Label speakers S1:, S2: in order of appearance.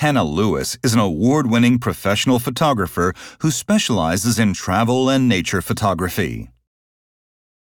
S1: Hannah Lewis is an award-winning professional photographer who specializes in travel and nature photography.